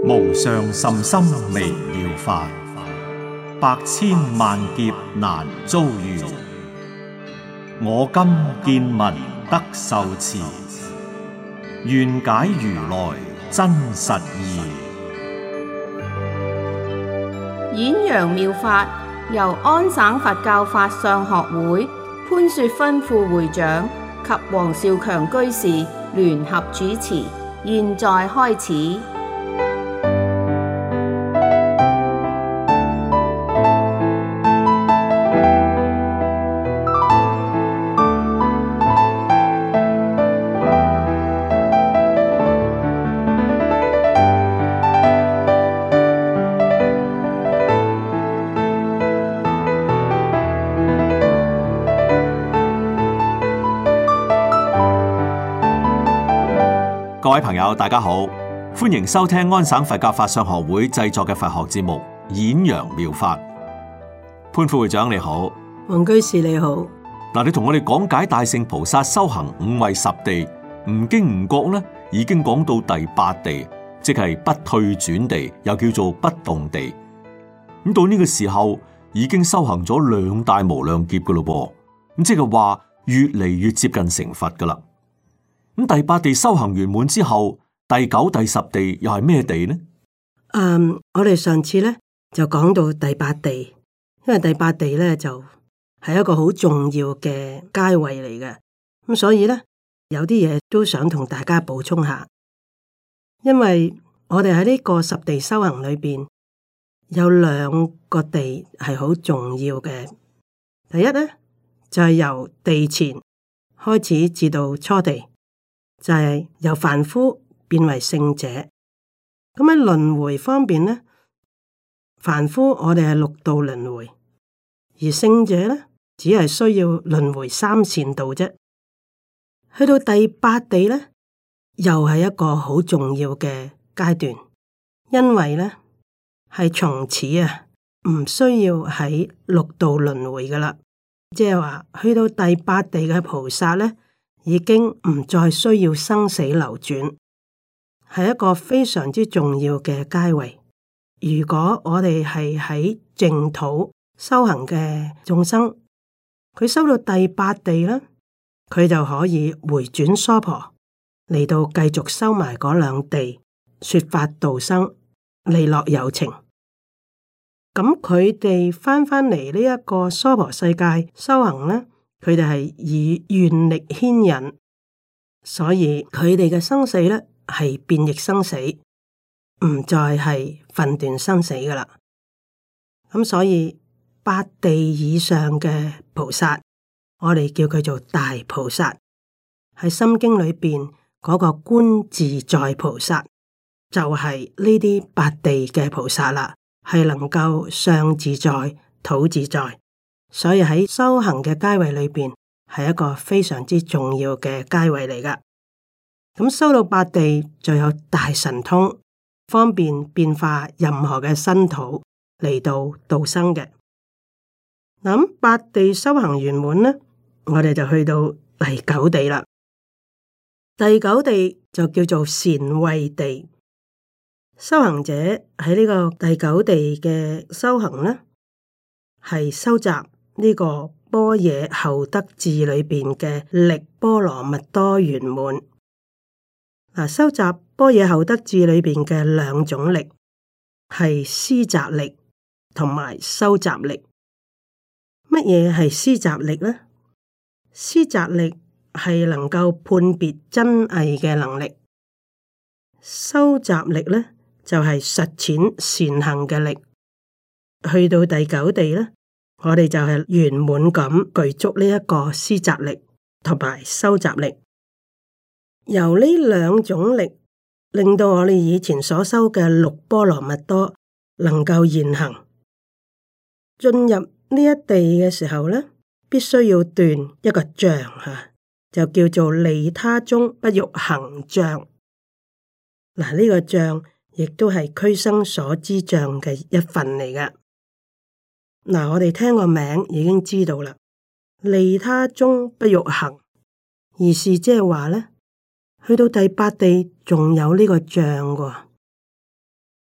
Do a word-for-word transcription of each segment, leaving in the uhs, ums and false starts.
無上甚深微妙法，百千萬劫難遭遇。我今見聞得受持，願解如來真實義。 演揚妙法由安省佛教法相學會潘雪芬副會長及黃少強居士聯合主持，現在開始。 各位朋友，大家好，歡迎收聽安省佛教法相學會製作嘅佛學節目《演揚妙法》。潘副會長你好， 黃居士你好。 嗱，你同我哋講解大乘菩薩修行五位十地，唔經唔覺咧，已經講到第八地，即係不退轉地，又叫做不動地。咁到呢個時候，已經修行咗兩大無量劫噶咯噃，咁即係話越嚟越接近成佛噶啦。咁第八地修行完滿之後，第九、第十地又係咩地呢？ 嗯，我哋上次咧就講到第八地，因為第八地咧就係一個好重要嘅階位嚟嘅，咁所以咧有啲嘢都想同大家補充下。因為我哋喺呢個十地修行裏邊有兩個地係好重要嘅。第一咧就係、是、由地前開始至到初地。就係由凡夫變為聖者。咁喺輪迴方面咧，凡夫我哋係六道輪迴，而聖者咧只係需要輪迴三善道啫。去到第八地咧，又係一個好重要嘅階段，因為咧係從此啊唔需要喺六道輪迴噶啦，即係話去到第八地嘅菩薩咧，已經唔再需要生死流轉，係一個非常之重要嘅階位。如果我哋係喺淨土修行嘅眾生，佢修到第八地咧，佢就可以回轉娑婆，嚟到繼續修埋嗰兩地，說法度生，利樂有情。咁佢哋翻返嚟呢一個娑婆世界修行咧，佢哋係以願力牽引，所以佢哋嘅生死咧係變易生死，唔再係分段生死噶啦。咁所以八地以上嘅菩薩，我哋叫佢做大菩薩。喺心經裏邊嗰個觀自在菩薩，就係呢啲八地嘅菩薩啦，係能夠上自在、土自在。所以喺修行嘅階位裏邊，係一個非常之重要嘅階位嚟噶。咁修到八地就有大神通，方便變化任何嘅身土嚟到度生嘅。咁八地修行圓滿呢，我哋就去到第九地啦。第九地就叫做禪慧地。修行者喺呢個第九地嘅修行呢，係收集呢個般若後得智裏邊嘅力波羅蜜多圓滿。嗱，收集般若後得智裏邊嘅兩種力，係思集力同埋收集力。乜嘢係思集力呢？思集力係能夠判別真偽嘅能力，收集力呢就係、是、實踐善行嘅力。去到第九地呢，我哋就係圓滿咁具足呢一個思集力同埋收集力，由呢兩種力令到我哋以前所修嘅六波羅蜜多能夠現行。進入呢一地嘅時候呢，必須要斷一個障吓，就叫做利他中不欲行障。嗱，呢個障亦都係俱生所知障嘅一份嚟噶。嗱，我哋聽個名已經知道啦。利他中不欲行，意思即係話咧，去到第八地仲有呢個障喎。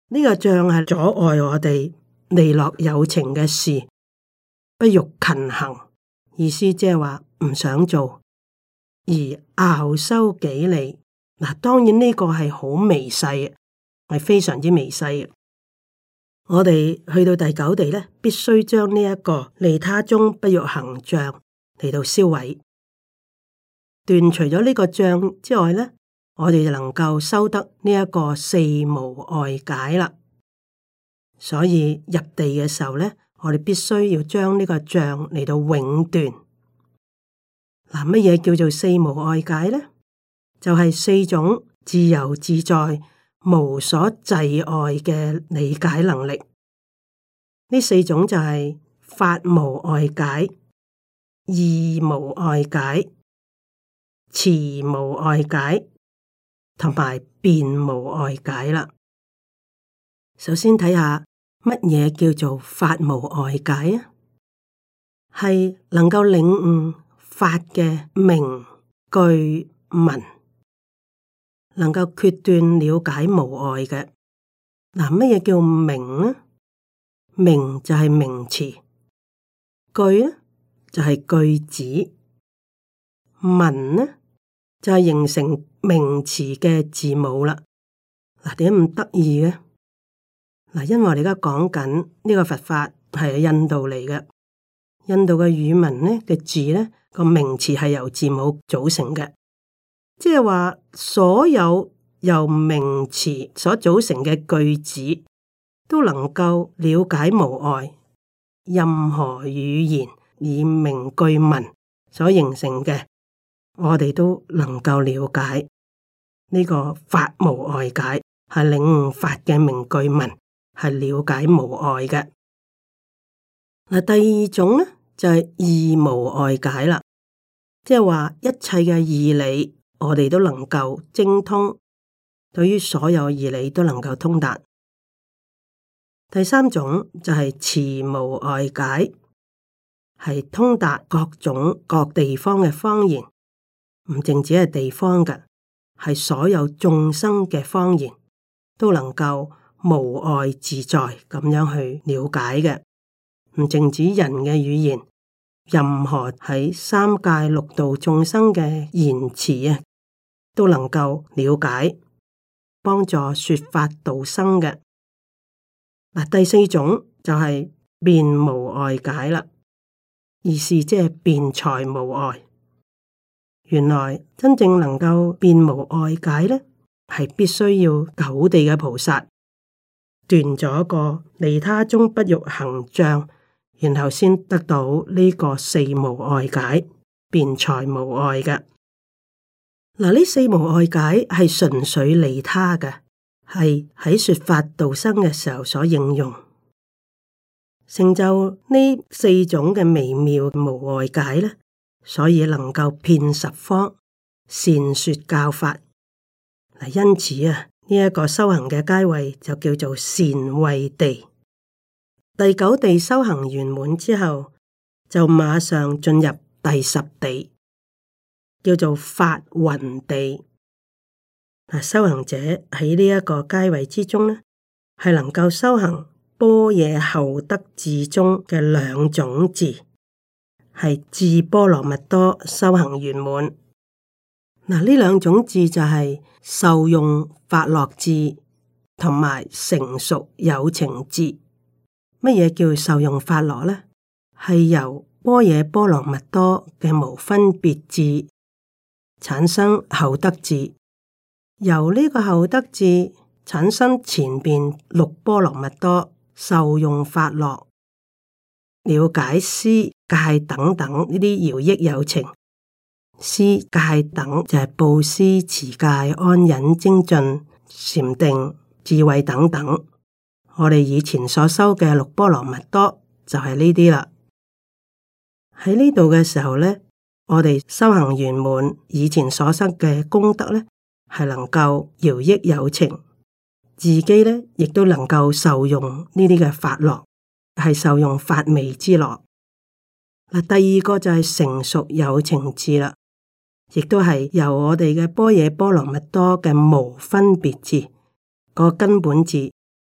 呢個障係阻礙我哋利樂有情嘅事，不欲勤行，意思即係話唔想做，而樂修己利。嗱，當然呢個係好微細，係非常之微細嘅。我哋去到第九地咧，必須將呢一個利他中不欲行障嚟到銷毀，斷除咗呢個障之外咧，我哋就能夠修得呢一個四無礙解啦。所以入地嘅時候咧，我哋必須要將呢個障嚟到永斷。嗱，乜嘢叫做四無礙解咧？就係、是、四種自由自在、無所滯礙嘅理解能力。呢四種就係法無礙解、義無礙解、慈無礙解同埋辯無礙解啦。首先睇下乜嘢叫做法無礙解啊？係能夠領悟法嘅明句文，能夠決斷了解無礙嘅。嗱，乜嘢叫明呢？明就係名詞，句呢就係句子，文呢就係形成名詞嘅字母啦。嗱，點解咁得意嘅？嗱，因為我哋而家講緊呢個佛法係印度嚟嘅，印度嘅語文呢嘅字呢個名詞係由字母組成嘅，即係話所有由名詞所組成嘅句子都能夠了解無礙。任何語言以名句文所形成嘅，我哋都能夠了解。呢個法無礙解係領悟法嘅名句文，係了解無礙嘅。嗱，第二種咧就係義無礙解啦，即係話一切嘅義理，我哋都能夠精通，對於所有義理都能夠通達。第三種就係慈無礙解，係通達各種各地方嘅方言，唔淨止係地方嘅，係所有眾生嘅方言都能夠無礙自在咁樣去了解嘅，唔淨止人嘅語言，任何喺三界六道眾生嘅言辭啊，都能夠了解，幫助說法度生嘅。嗱，第四種就係辯無礙解啦，意思即係辯才無礙。原來真正能夠辯無礙解咧，係必須要九地嘅菩薩斷咗個利他中不欲行障，然後先得到呢個四無礙解，辯才無礙嘅。嗱，呢四無礙解係純粹利他嘅。係喺說法度生嘅時候所應用，成就呢四種嘅微妙無礙解咧，所以能夠遍十方善說教法。嗱，因此啊，呢、這、一個修行嘅階位就叫做善慧地。第九地修行圓滿之後，就馬上進入第十地，叫做法雲地。修行者喺呢一個階位之中呢，係能夠修行般若後得智中嘅兩種智，係智波羅蜜多修行圓滿。嗱，呢兩種智就係受用法樂智同埋成熟有情智。乜嘢叫受用法樂呢？係由般若波羅蜜多嘅無分別智產生後得智。由呢個後得智產生前邊六波羅蜜多受用法樂，了解施戒等等呢啲饒益有情。施戒等就係布施、持戒、安忍、精進、禪定、智慧等等。我哋以前所修嘅六波羅蜜多就係呢啲啦。喺呢度嘅時候咧，我哋修行圓滿，以前所修嘅功德咧，係能夠饒益有情，自己咧亦都能夠受用呢啲嘅法樂，係受用法味之樂。嗱，第二個就係成熟有情智啦，亦都係由我哋嘅般若波羅蜜多嘅無分別智個根本智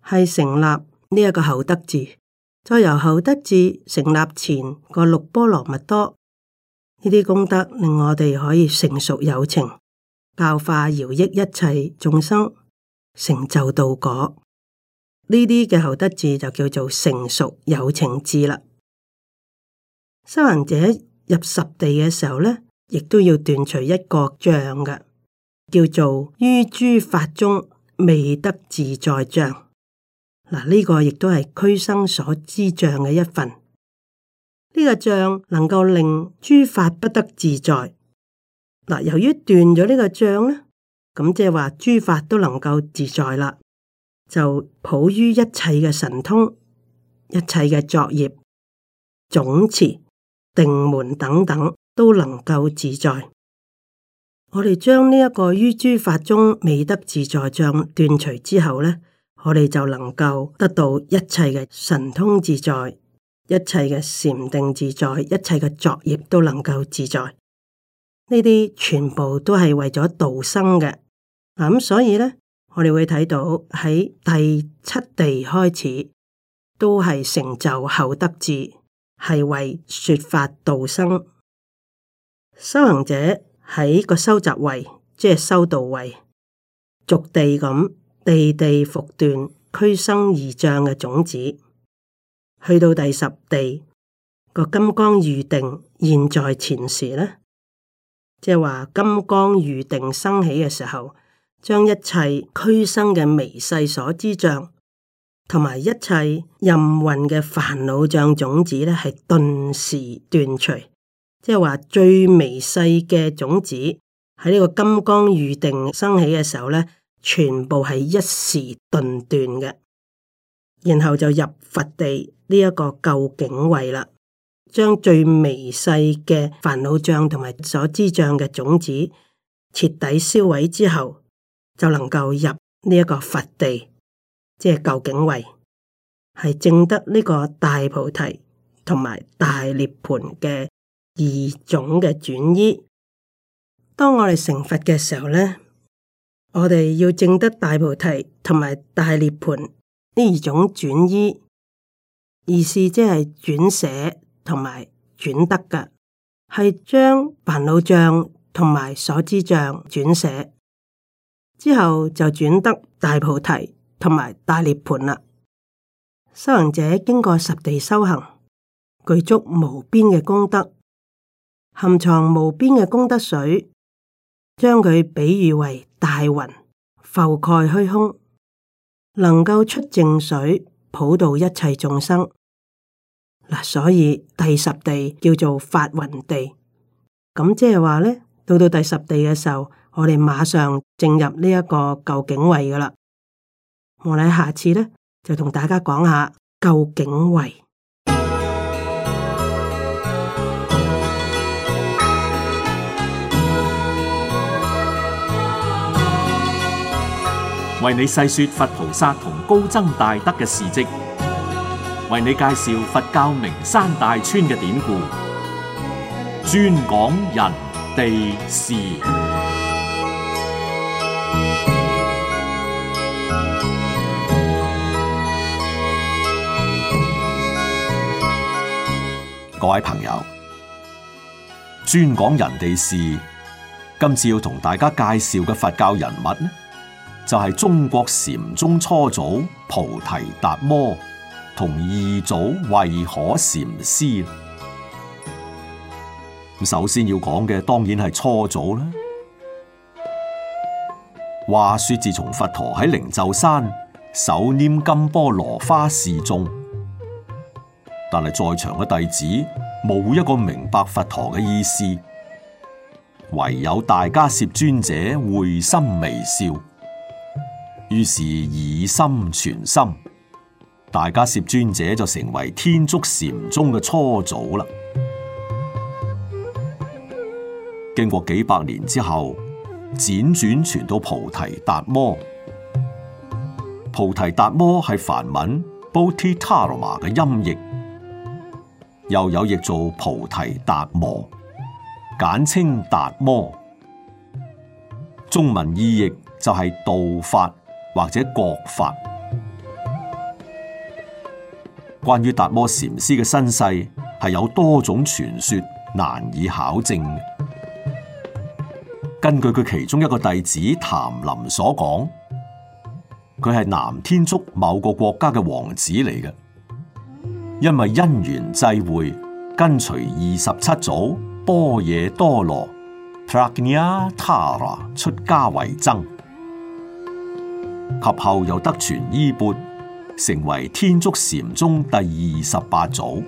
係成立呢一個後德字，再由後德字成立前個六波羅蜜多，呢啲功德令我哋可以成熟有情，教化饒益一切眾生，成就道果。呢啲嘅後德字就叫做成熟有情智啦。修行者入十地嘅時候呢，亦都要斷除一個障嘅，叫做於諸法中未得自在障。嗱，呢個亦都係俱生所知障嘅一份。呢、這個障能夠令諸法不得自在。嗱，由於斷咗呢個障呢，咁即係話諸法都能夠自在啦。就普於一切嘅神通、一切嘅作業、總持、定門等等都能夠自在。我哋將呢一個於諸法中未得自在障斷除之後呢，我哋就能夠得到一切嘅神通自在，一切嘅禪定自在，一切嘅作業都能夠自在。呢啲全部都係為咗度生嘅。嗱，咁所以呢，我哋會睇到喺第七地開始都係成就後德智，係為說法度生。修行者喺個修習位，即係修道位，逐地咁地地復斷俱生二障嘅種子，去到第十地個金剛喻定現在前時呢，即係話金剛喻定生起嘅時候，將一切俱生嘅微細所知障，同埋一切任運嘅煩惱障種子咧，係頓時斷除。即係話最微細嘅種子喺呢個金剛喻定生起嘅時候咧，全部係一時頓斷嘅。然後就入佛地呢一個究竟位啦，將最微細嘅煩惱障同埋所知障嘅種子徹底銷毀之後，就能夠入呢一個佛地，即係究竟位，係證得呢個大菩提同埋大涅槃嘅二種嘅轉依。當我哋成佛嘅時候咧，我哋要證得大菩提同埋大涅槃呢二種轉依，意思即係轉捨同埋轉得嘅，係將煩惱障同埋所知障轉捨之後，就轉得大菩提同埋大涅槃啦。修行者經過十地修行，具足無邊嘅功德，含藏無邊嘅功德水，將佢比喻為大雲覆蓋虛空，能夠出淨水普渡一切眾生。嗱，所以第十地叫做法雲地。咁即係話咧，到到第十地嘅時候，我哋馬上進入呢一個究竟位噶啦。我哋下次咧就同大家講下究竟位。 為你細說佛菩薩同高僧大德嘅事跡，為你介紹佛教名山大川嘅典故，專講人地事。各位朋友，專講人地事，今次要同大家介紹嘅佛教人物呢，就係中國禪宗初祖菩提達摩同二祖慧可禪師。咁首先要講嘅當然係初祖啦。話說自從佛陀喺靈鷲山手拈金波羅花示眾，但係在場嘅弟子冇一個明白佛陀嘅意思，唯有大迦葉尊者會心微笑。於是以心傳心，大迦葉尊者就成為天竺禪宗嘅初祖啦。經過幾百年之後，輾轉傳到菩提達摩。菩提達摩係梵文 Bodhidharma 嘅音譯，又有譯做菩提達摩，簡稱達摩。中文意譯就係道法或者覺法。 關於達摩禪師嘅身世係有多種傳說，難以考證嘅。根據佢其中一個弟子曇林所講，佢係南天竺某個國家嘅王子嚟嘅，因為因緣際會，跟隨二十七祖般若多羅 Prajnatara 出家為僧，及後又得傳衣缽，成為天竺禪宗第二十八祖。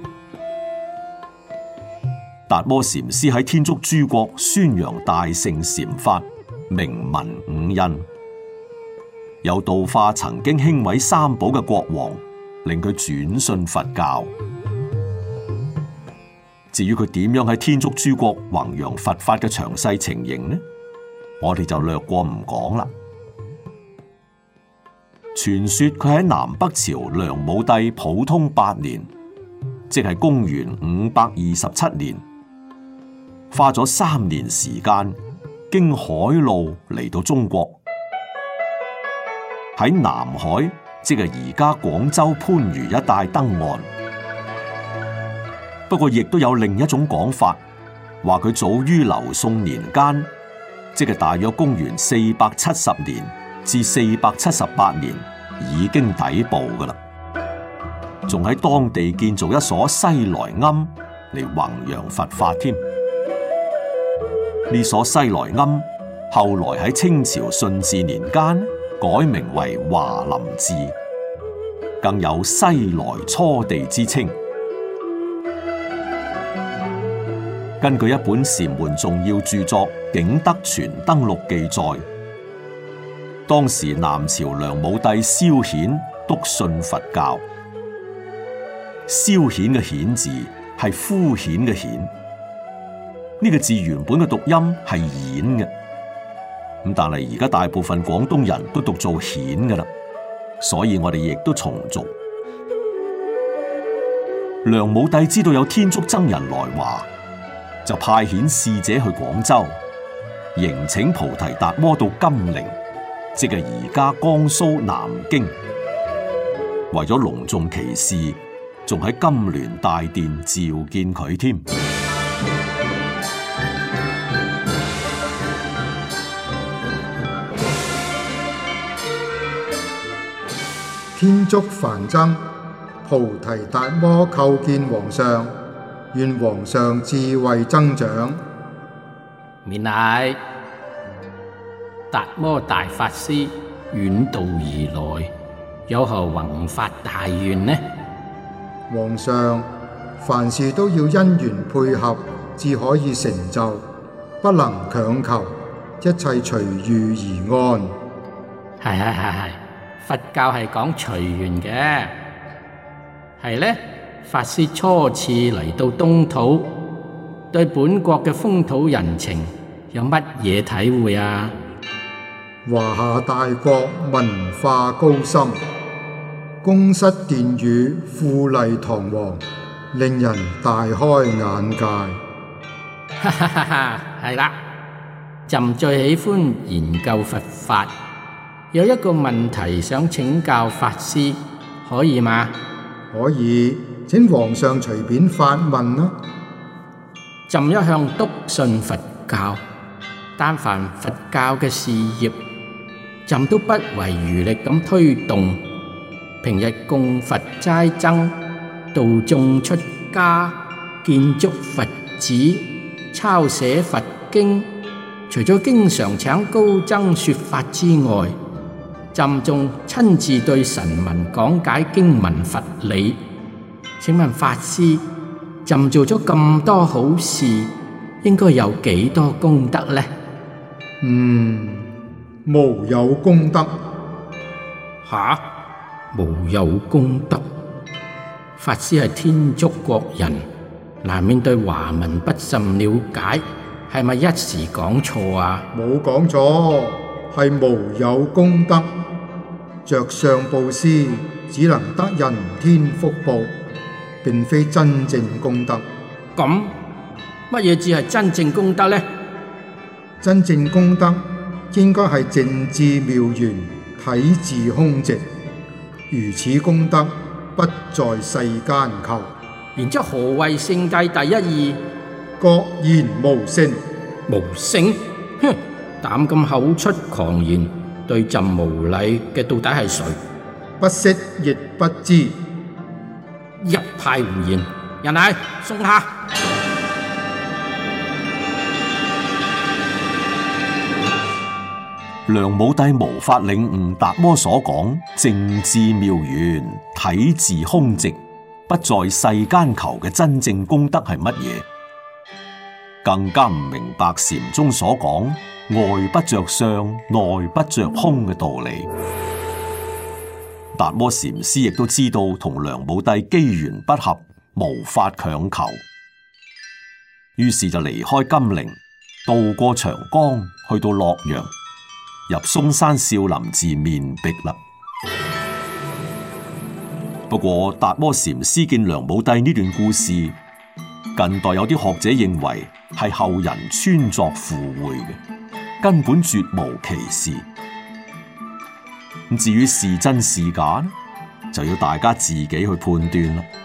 達摩禪師喺天竺諸國宣揚大乘禪法，名聞五印，有度化曾經輕毀三寶嘅國王，令佢轉信佛教。至於佢點樣喺天竺諸國弘揚佛法嘅詳細情形呢？我哋就略過唔講啦。傳說佢喺南北朝梁武帝普通八年，即係公元五百二十七年，花咗三年時間經海路嚟到中國，喺南海，即係而家廣州番禺一帶登岸。不過亦都有另一種講法，話佢早於劉宋年間，即係大約公元四百七十年至四百七十八年已經抵埗㗎喇，仲喺當地建造一所西來庵嚟弘揚佛法添。呢所西來庵後來喺清朝順治年間改名為華林寺，更有西來初地之稱。根據一本禪門重要著作《景德傳燈錄》記載，當時南朝梁武帝蕭衍篤信佛教。蕭衍嘅衍字係敷衍嘅衍，呢個字原本嘅讀音係演嘅，咁但係而家大部分廣東人都讀做顯㗎喇，所以我哋亦都重讀。梁武帝知道有天竺僧人來華，就派遣使者去廣州，迎請菩提達摩到金陵，即係而家江蘇南京。為咗隆重其事，仲喺金鑾大殿召見佢添。 天竺梵僧菩提達摩叩見皇上，願皇上智慧增長。 免禮。達摩大法師遠道而來，有何宏發大願呢？ 皇上，凡事都要因緣配合，至可以成就，不能強求，一切隨遇而安。 係係係係，佛教係講隨緣嘅。係呢，法師初次嚟到東土，對本國嘅風土人情有乜嘢體會啊？ 華夏大國文化高深，宮室殿宇富麗堂皇，令人大開眼界。 哈哈哈哈，係啦，朕最喜歡研究佛法，有一個問題想請教法師，可以嗎？ 可以，請皇上隨便發問啦。 朕一向篤信佛教，但凡佛教嘅事業，朕都不遺餘力咁推動。平日供佛齋僧、度眾出家、建築佛寺、抄寫佛經，除咗經常請高僧說法之外，朕仲親自對臣民講解經文佛理。請問法師，朕做咗咁多好事，應該有幾多功德呢？ 嗯，無有功德。 吓？無有功德？法師係天竺國人，難免對華文不甚了解，係咪一時講錯啊？ 冇講錯，係無有功德。着相布施，只能得人天福報，並非真正功德。 咁乜嘢至係真正功德呢？ 真正功德應該係靜智妙圓，體自空寂。如此功德不在世間求。 然之後何謂聖諦第一義？ 各言無聖。 無聖？哼！膽咁口出狂言，對朕無禮嘅到底係誰？ 不識亦不知。 一派胡言！人嚟送下。 梁武帝無法領悟達摩所講正智妙圓、體自空寂、不在世間求嘅真正功德係乜嘢，更加唔明白禪宗所講外不着相、內不着空嘅道理。達摩禪師亦都知道同梁武帝機緣不合，無法強求，於是就離開金陵，渡過長江，去到洛陽，入嵩山少林寺面壁啦。不過達摩禪師見梁武帝呢段故事，近代有啲學者認為係後人穿鑿附會嘅，根本絕無其事。至於是真是假，就要大家自己去判斷啦。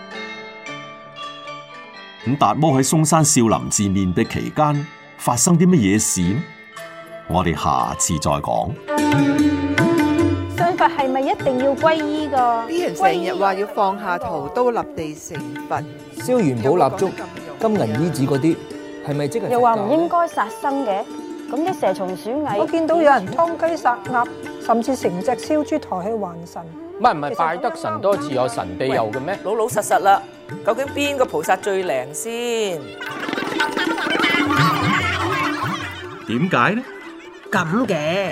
咁達摩喺嵩山少林寺面壁期間發生啲乜嘢事？我哋下次再講。 信佛係咪一定要皈依噶？ 啲人成日話要放下屠刀立地成佛， 燒元寶蠟燭、金銀衣紙嗰啲，係咪即係？ 又話唔應該殺生嘅，咁啲蛇蟲鼠蟻， 我見到有人劏雞殺鴨，甚至成隻燒豬抬去還神。 唔係唔係，拜得神多自有神庇佑嘅咩？ 老老實實啦，究竟邊個菩薩最靈先？ 點解呢？ 咁嘅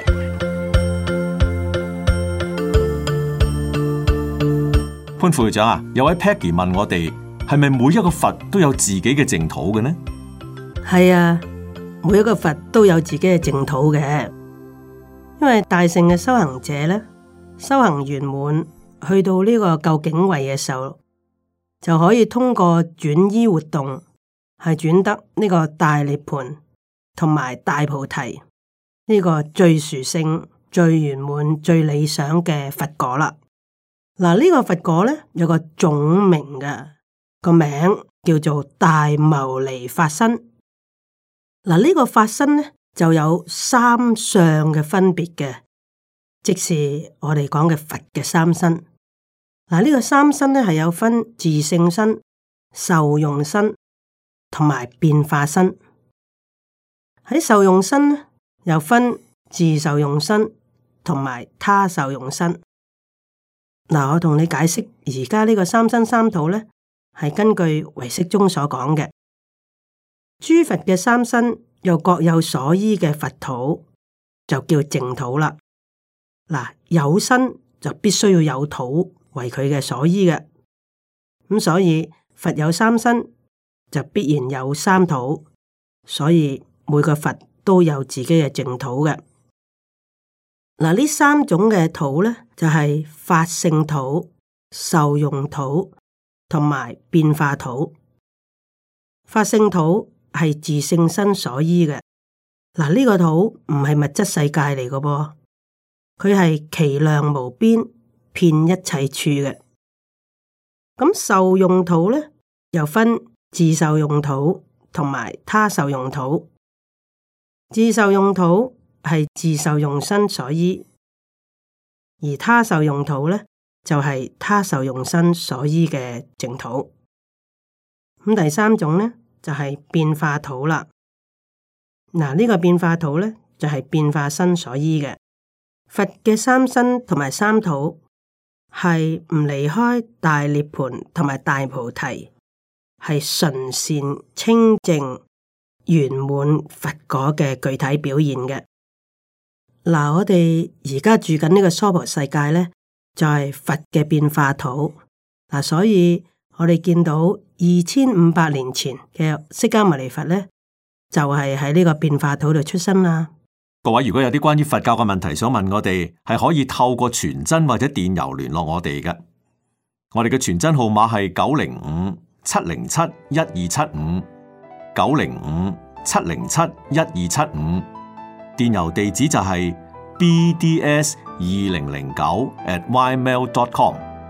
潘副會長啊，有位 Peggy 問我哋，係咪每一個佛都有自己嘅淨土嘅呢？ 係啊，每一個佛都有自己嘅淨土嘅，因為大乘嘅修行者咧，修行圓滿，去到呢個究竟位嘅時候，就可以通過轉依活動，係轉得呢個大涅槃同埋大菩提呢個最殊勝、最圓滿、最理想嘅佛果啦。嗱，呢個佛果咧有個總名嘅，個名叫做大牟尼法身。嗱，呢個法身咧就有三相嘅分別嘅，即是我哋講嘅佛嘅三身。嗱，呢個三身咧係有分自性身、受用身同埋變化身。喺受用身咧，又分自受用身同埋他受用身。嗱，我同你解釋，而家呢個三身三土咧，係根據唯識中所講嘅。諸佛嘅三身又各有所依嘅佛土，就叫淨土啦。嗱，有身就必須要有土為佢嘅所依嘅，咁所以佛有三身就必然有三土，所以每個佛都有自己嘅淨土嘅。嗱，呢三種嘅土咧，就係、是、法性土、受用土同埋變化土。法性土係自性身所依嘅。嗱，呢個土唔係物質世界嚟嘅噃，佢係其量無邊，遍一切處嘅。咁受用土咧，又分自受用土同埋他受用土。自受用土係自受用身所依，而他受用土咧就係、是、他受用身所依嘅淨土。咁第三種咧就係、是、變化土啦。嗱，呢個變化土咧就係、是、變化身所依嘅。佛嘅三身同埋三土係唔離開大涅槃同埋大菩提，係純善清淨圓滿佛果嘅具體表現嘅。嗱，我哋而家住緊呢個娑婆世界咧，就係、是、佛嘅變化土。嗱，所以我哋見到二千五百年前嘅釋迦牟尼佛咧，就係喺呢個變化土度出生啦。 各位如果有啲關於佛教嘅問題想問我哋，係可以透過傳真或者電郵聯絡我哋嘅。我哋嘅傳真號碼係九零五七零七一二七五，九零五七零七一二七五。電郵地址就係 b d s 二零零九 at ymail dot com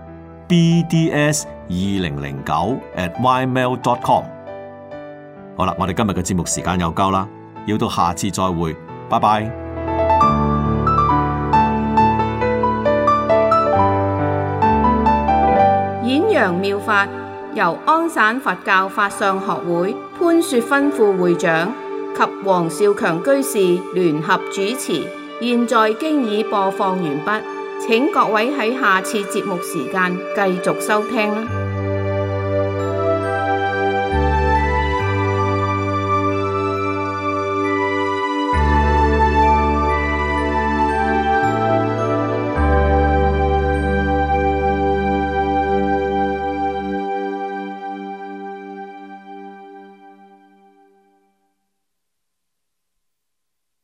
b d s 二零零九 at ymail dot com。好啦，我哋今日嘅節目時間又夠啦，要到下次再會，拜拜。 演揚妙法由安省佛教法相學會潘雪芬副會長及黃少強居士聯合主持，現在經已播放完畢，請各位喺下次節目時間繼續收聽啦。